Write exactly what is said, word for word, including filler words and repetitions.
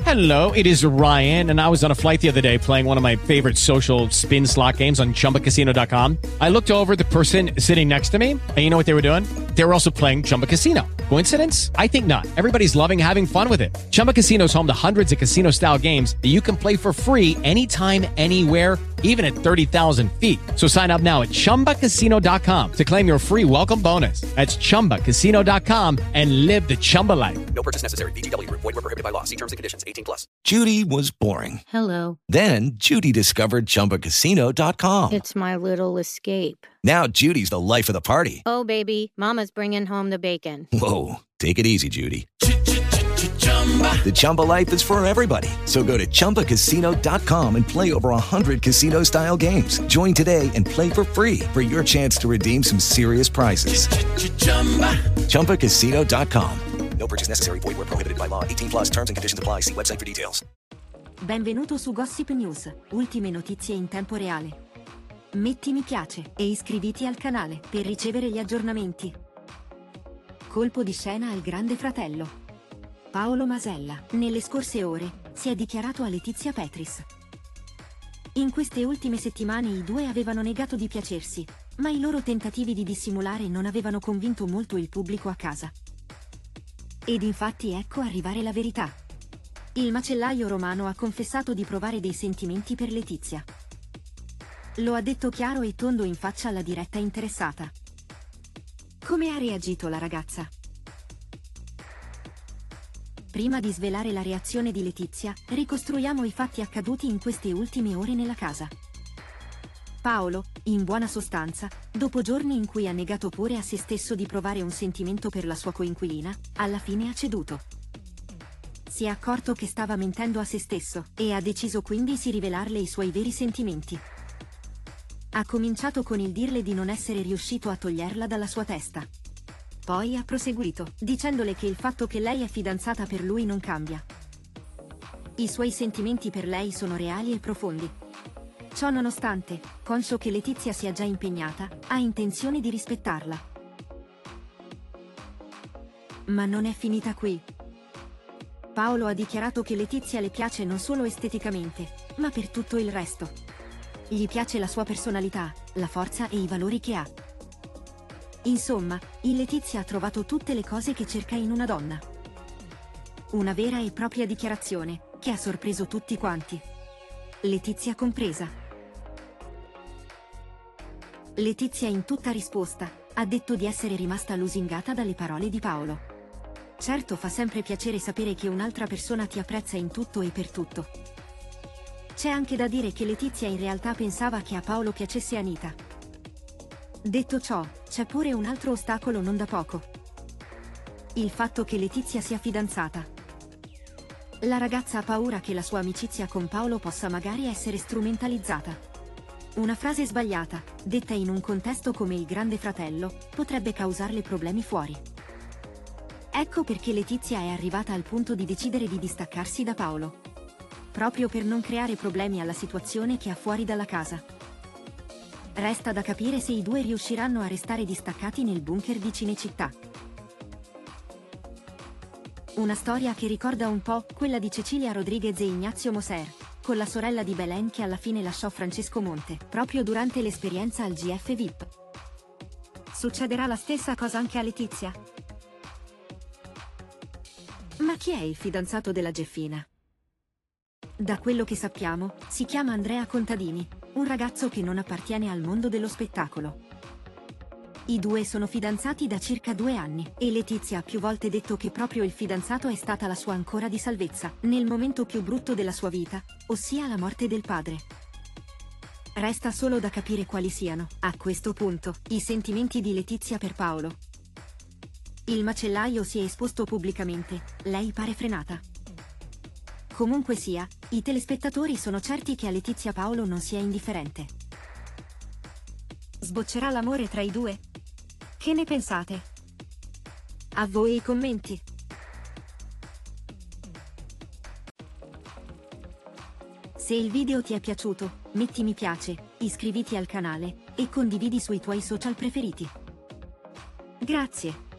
Hello, it is Ryan, and I was on a flight the other day playing one of my favorite social spin slot games on Chumba Casino dot com. I looked over at the person sitting next to me, and you know what they were doing? They were also playing Chumba Casino. Coincidence? I think not. Everybody's loving having fun with it. Chumba Casino is home to hundreds of casino-style games that you can play for free anytime, anywhere, even at thirty thousand feet. So sign up now at Chumba Casino dot com to claim your free welcome bonus. That's Chumba Casino dot com and live the Chumba life. No purchase necessary. V G W. Void where prohibited by law. See terms and conditions. eighteen plus. Judy was boring. Hello. Then Judy discovered Chumba Casino dot com. It's my little escape. Now Judy's the life of the party. Oh, baby, mama's bringing home the bacon. Whoa, take it easy, Judy. The Chumba life is for everybody. So go to Chumba Casino dot com and play over one hundred casino-style games. Join today and play for free for your chance to redeem some serious prizes. Chumba Casino dot com. No purchase necessary. Void where prohibited by law. eighteen plus terms and conditions apply. See website for details. Benvenuto su Gossip News, ultime notizie in tempo reale. Metti mi piace e iscriviti al canale per ricevere gli aggiornamenti. Colpo di scena al Grande Fratello. Paolo Masella, nelle scorse ore, si è dichiarato a Letizia Petris. In queste ultime settimane i due avevano negato di piacersi, ma i loro tentativi di dissimulare non avevano convinto molto il pubblico a casa. Ed infatti ecco arrivare la verità. Il macellaio romano ha confessato di provare dei sentimenti per Letizia. Lo ha detto chiaro e tondo in faccia alla diretta interessata. Come ha reagito la ragazza? Prima di svelare la reazione di Letizia, ricostruiamo i fatti accaduti in queste ultime ore nella casa. Paolo, in buona sostanza, dopo giorni in cui ha negato pure a se stesso di provare un sentimento per la sua coinquilina, alla fine ha ceduto. Si è accorto che stava mentendo a se stesso, e ha deciso quindi di rivelarle i suoi veri sentimenti. Ha cominciato con il dirle di non essere riuscito a toglierla dalla sua testa. Poi ha proseguito, dicendole che il fatto che lei è fidanzata per lui non cambia. I suoi sentimenti per lei sono reali e profondi. Ciò nonostante, conscio che Letizia sia già impegnata, ha intenzione di rispettarla. Ma non è finita qui. Paolo ha dichiarato che Letizia le piace non solo esteticamente, ma per tutto il resto. Gli piace la sua personalità, la forza e i valori che ha. Insomma, in Letizia ha trovato tutte le cose che cerca in una donna. Una vera e propria dichiarazione, che ha sorpreso tutti quanti. Letizia compresa. Letizia in tutta risposta, ha detto di essere rimasta lusingata dalle parole di Paolo. Certo fa sempre piacere sapere che un'altra persona ti apprezza in tutto e per tutto. C'è anche da dire che Letizia in realtà pensava che a Paolo piacesse Anita. Detto ciò, c'è pure un altro ostacolo non da poco. Il fatto che Letizia sia fidanzata. La ragazza ha paura che la sua amicizia con Paolo possa magari essere strumentalizzata. Una frase sbagliata, detta in un contesto come il Grande Fratello, potrebbe causarle problemi fuori. Ecco perché Letizia è arrivata al punto di decidere di distaccarsi da Paolo. Proprio per non creare problemi alla situazione che ha fuori dalla casa. Resta da capire se i due riusciranno a restare distaccati nel bunker di Cinecittà. Una storia che ricorda un po' quella di Cecilia Rodriguez e Ignazio Moser, con la sorella di Belen che alla fine lasciò Francesco Monte, proprio durante l'esperienza al G F V I P. Succederà la stessa cosa anche a Letizia? Ma chi è il fidanzato della Geffina? Da quello che sappiamo, si chiama Andrea Contadini, un ragazzo che non appartiene al mondo dello spettacolo. I due sono fidanzati da circa due anni, e Letizia ha più volte detto che proprio il fidanzato è stata la sua ancora di salvezza, nel momento più brutto della sua vita, ossia la morte del padre. Resta solo da capire quali siano, a questo punto, i sentimenti di Letizia per Paolo. Il macellaio si è esposto pubblicamente, lei pare frenata. Comunque sia, i telespettatori sono certi che a Letizia Paolo non sia indifferente. Sboccerà l'amore tra i due? Che ne pensate? A voi i commenti. Se il video ti è piaciuto, metti mi piace, iscriviti al canale e condividi sui tuoi social preferiti. Grazie.